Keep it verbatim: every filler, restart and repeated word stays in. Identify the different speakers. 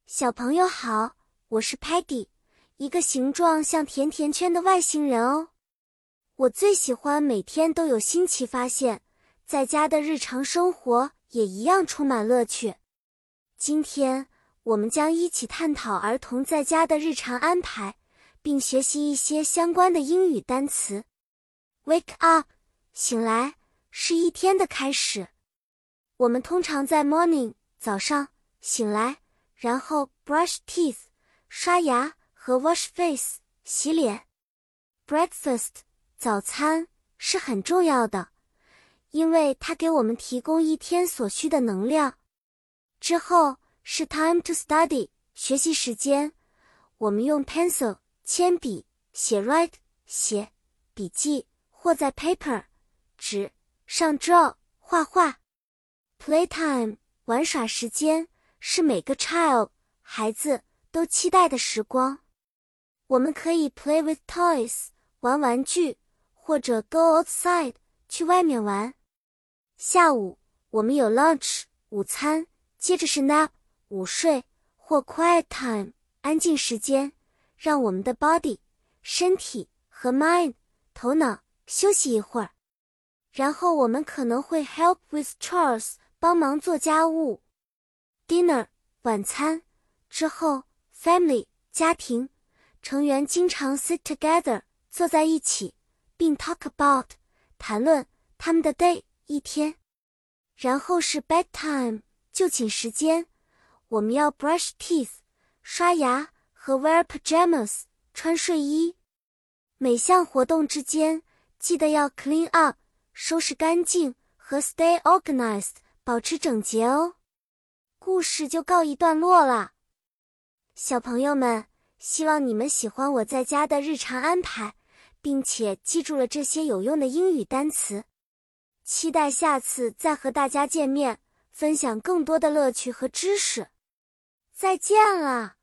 Speaker 1: 小朋友好，我是 Peggy， 一个形状像甜甜圈的外星人哦。我最喜欢每天都有新奇发现，在家的日常生活也一样充满乐趣。今天，我们将一起探讨儿童在家的日常安排，并学习一些相关的英语单词。Wake up， 醒来，是一天的开始。我们通常在 morning， 早上，醒来，然后 brush teeth， 刷牙和 wash face， 洗脸。Breakfast， 早餐，是很重要的，因为它给我们提供一天所需的能量。之后是 time to study， 学习时间。我们用 pencil， 铅笔，写 write， 写笔记，或在 paper， 纸上 draw， 画画。Playtime， 玩耍时间，是每个 child， 孩子都期待的时光。我们可以 play with toys， 玩玩具，或者 go outside， 去外面玩。下午，我们有 lunch， 午餐，接着是 nap， 午睡，或 quiet time， 安静时间，让我们的 body， 身体和 mind， 头脑休息一会儿。然后我们可能会 help with chores， 帮忙做家务。Dinner， 晚餐，之后 family， 家庭，成员经常 sit together， 坐在一起，并 talk about， 谈论他们的 day， 一天。然后是 bedtime， 就寝时间，我们要 brush teeth， 刷牙和 wear pajamas， 穿睡衣。每项活动之间，记得要 clean up， 收拾干净和 stay organized， 保持整洁哦。故事就告一段落了。小朋友们，希望你们喜欢我在家的日常安排，并且记住了这些有用的英语单词。期待下次再和大家见面，分享更多的乐趣和知识。再见了。